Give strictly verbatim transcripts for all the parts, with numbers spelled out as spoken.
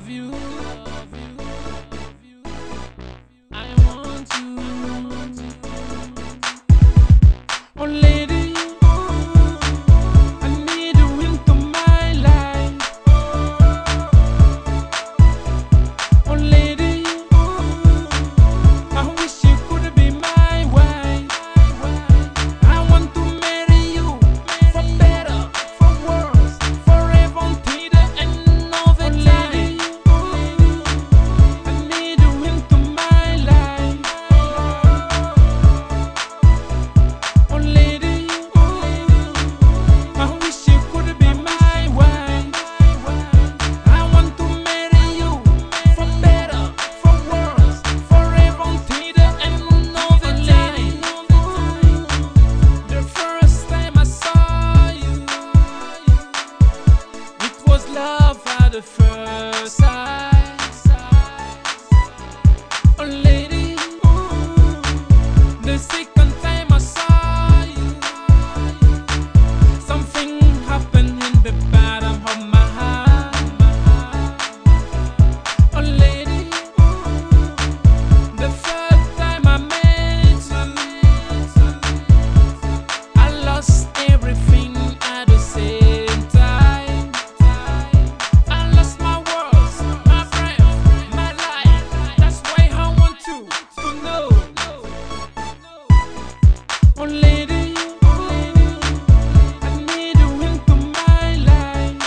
you. I want you. Oh lady, I need you into my life. Oh lady, I wish you could be my wife. I want to marry you for better, for worse, forever until the end of the time. I need you into my life. Oh lady, I wish you could be my wife. I want to marry you for better, for worse, forever until the end of the time. The first time I saw you, it was love at the first sight. Oh lady, the second time I saw you, something happened in the bottom of my heart. Oh lady, the first time I met you, I lost everything at the same time. I lost my words, my breath, my life. That's why I want you to know. Oh lady, I need you into my life.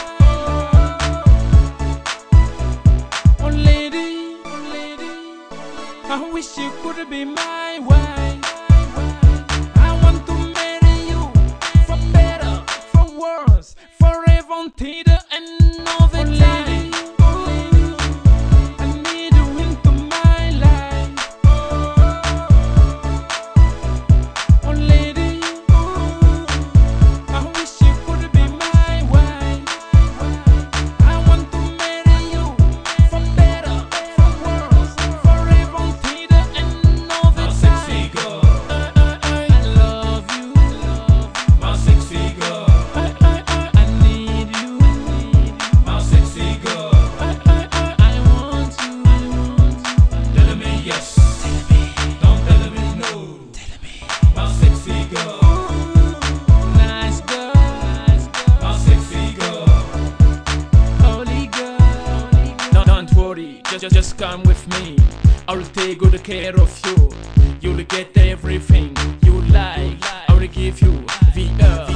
Oh lady, I wish you could be my wife. I want to marry you for better, for worse, forever until the end of the time. I need you into my life. Oh lady, I wish you could be my wife. I want to marry you for better, for worse, forever until the end of the time. I love you. My sexy girl, I need you. my sexy girl, I want you. tell me yes, don't tell me no. My sexy girl, Nice girl, my sexy girl, holy girl. Don't, don't worry, just, just come with me. I'll take good care of you. You'll get everything you like. I will give you the earth.